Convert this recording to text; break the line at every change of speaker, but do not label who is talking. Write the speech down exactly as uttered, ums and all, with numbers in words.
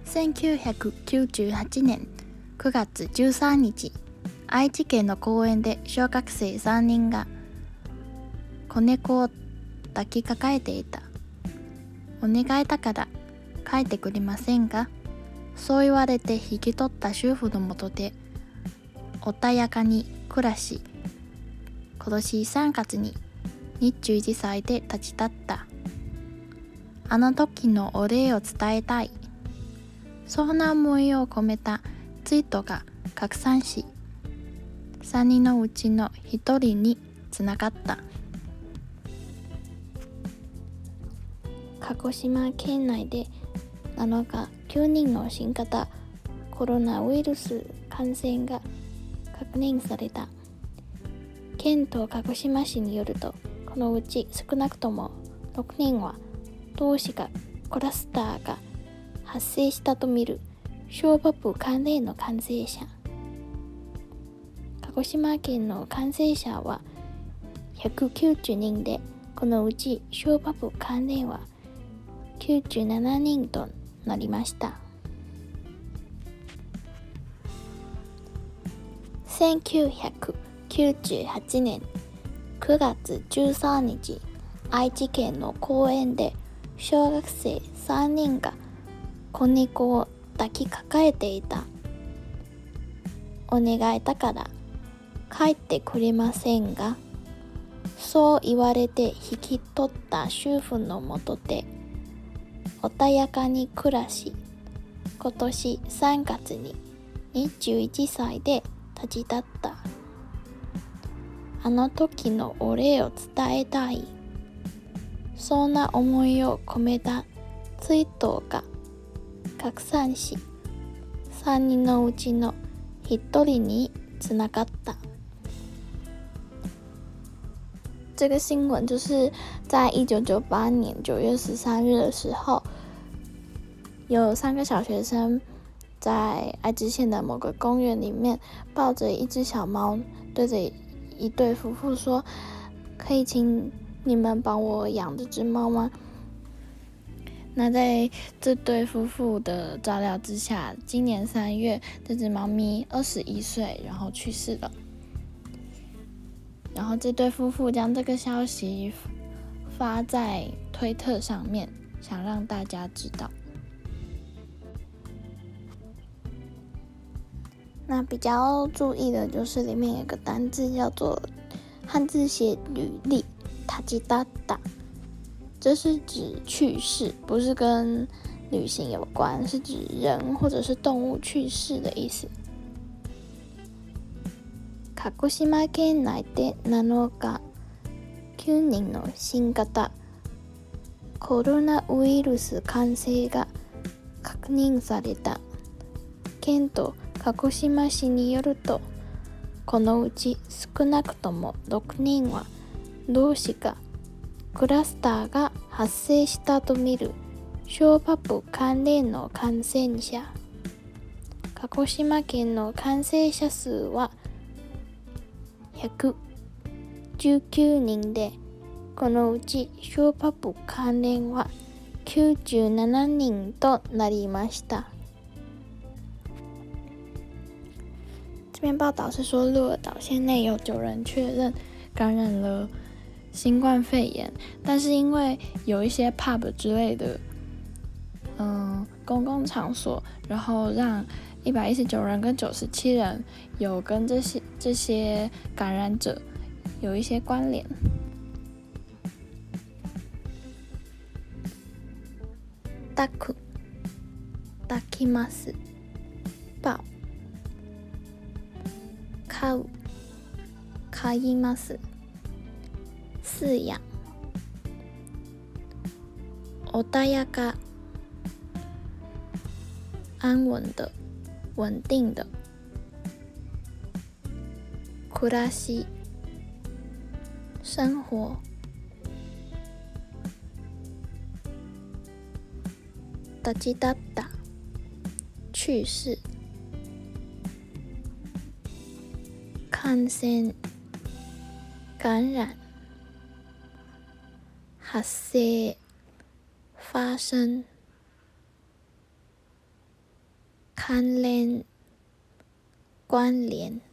せんきゅうひゃくきゅうじゅうはちねんくがつじゅうさんにち、愛知県の公園で小学生さんにんが子猫を抱きかかえていた。お願いだから帰ってくれませんか？そう言われて引き取った主婦のもとで穏やかに暮らし、今年さんがつににじゅういちさいで立ち去った。あの時のお礼を伝えたい。そんな思いを込めたツイートが拡散し、さんにんのうちのひとりにつながった。鹿児島県内でなのかきゅうにんの新型コロナウイルス感染が確認された。県と鹿児島市によると、このうち少なくともろくにんは同志がクラスターが発生したとみる小バブ関連の感染者。鹿児島県の感染者はひゃくきゅうじゅうにんで、このうち小バブ関連はきゅうじゅうななにんとなりました。せんきゅうひゃくきゅうじゅうはちねんくがつじゅうさんにち、愛知県の公園で小学生さんにんが子猫を抱きかかえていた。お願いだから帰ってくれませんが、そう言われて引き取った主婦のもとで穏やかに暮らし、今年さんがつににじゅういちさいで立ち去った。あの時のお礼を伝えたい。そんな思いを込めたツイートが拡散し、さんにんのうちのひとりにつながった。这个新闻就是在一九九八年九月十三日的时候，有三个小学生在爱知县的某个公园里面抱着一只小猫，对着一对夫妇说：“可以请你们帮我养这只猫吗？”那在这对夫妇的照料之下，今年三月，这只猫咪二十一岁，然后去世了。然后这对夫妇将这个消息发在推特上面，想让大家知道。那比较注意的就是里面有个单字叫做汉字写履历，塔吉达达。这是指去世，不是跟旅行有关，是指人或者是动物去世的意思。鹿児島県内でなのかきゅうにんの新型コロナウイルス感染が確認された。県と鹿児島市によると、このうち少なくともろくにんは同志がクラスターが発生したとみる小バブ関連の感染者。鹿児島県の感染者数はひゃくじゅうきゅうにんで、このうち小バブ関連はきゅうじゅうななにんとなりました。这篇报道是说，鹿儿岛县内有九人确认感染了新冠肺炎，但是因为有一些 pub 之类的，嗯，公共场所，然后让一百一十九人跟九十七人有跟这些这些感染者有一些关联。抱く、抱きます、抱、飼う、飼います。饲养、穏やか、安稳的、稳定的。暮らし、生活。立ち立った、去世。感染、感染。発生、发生。 関連、关聯